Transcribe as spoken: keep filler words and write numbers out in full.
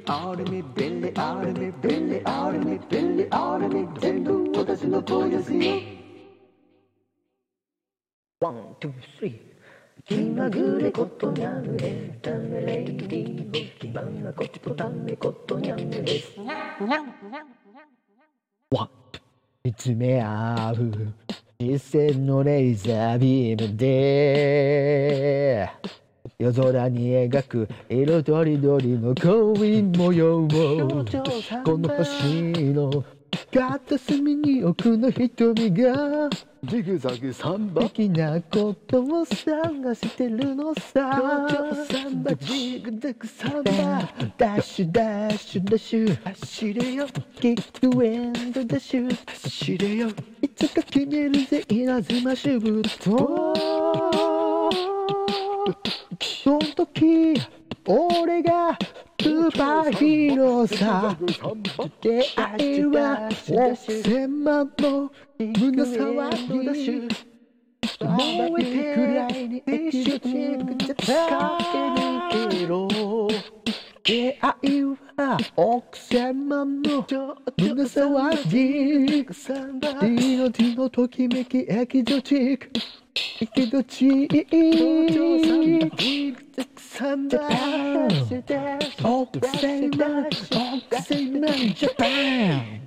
アルミビリアルミビリアルミビリアルミ全部私の声ですよ。ワン、ツー、スリー。気まぐれことにゃむエンタメレイディオ気まなことためことにゃむです。ワン、見つめ合う視線のレーザービームで夜空に描く色とりどりの恋模様をこの星の片隅に奥の瞳がジグザグサンバ的なことを探してるのさ。サンバジグザグサンバダッシュダッシュダッシュ走れよキックエンドダッシュ走れよいつか決めるぜ稲妻シュートその時俺がスーパーヒーローさ出会いは億千万の胸騒ぎ燃えてくらいにエキゾチックじゃ使ってるけど出会いは億千万の胸騒ぎディノディのときめきエキゾチックエキゾチックサンバ億千万億千万ジャパン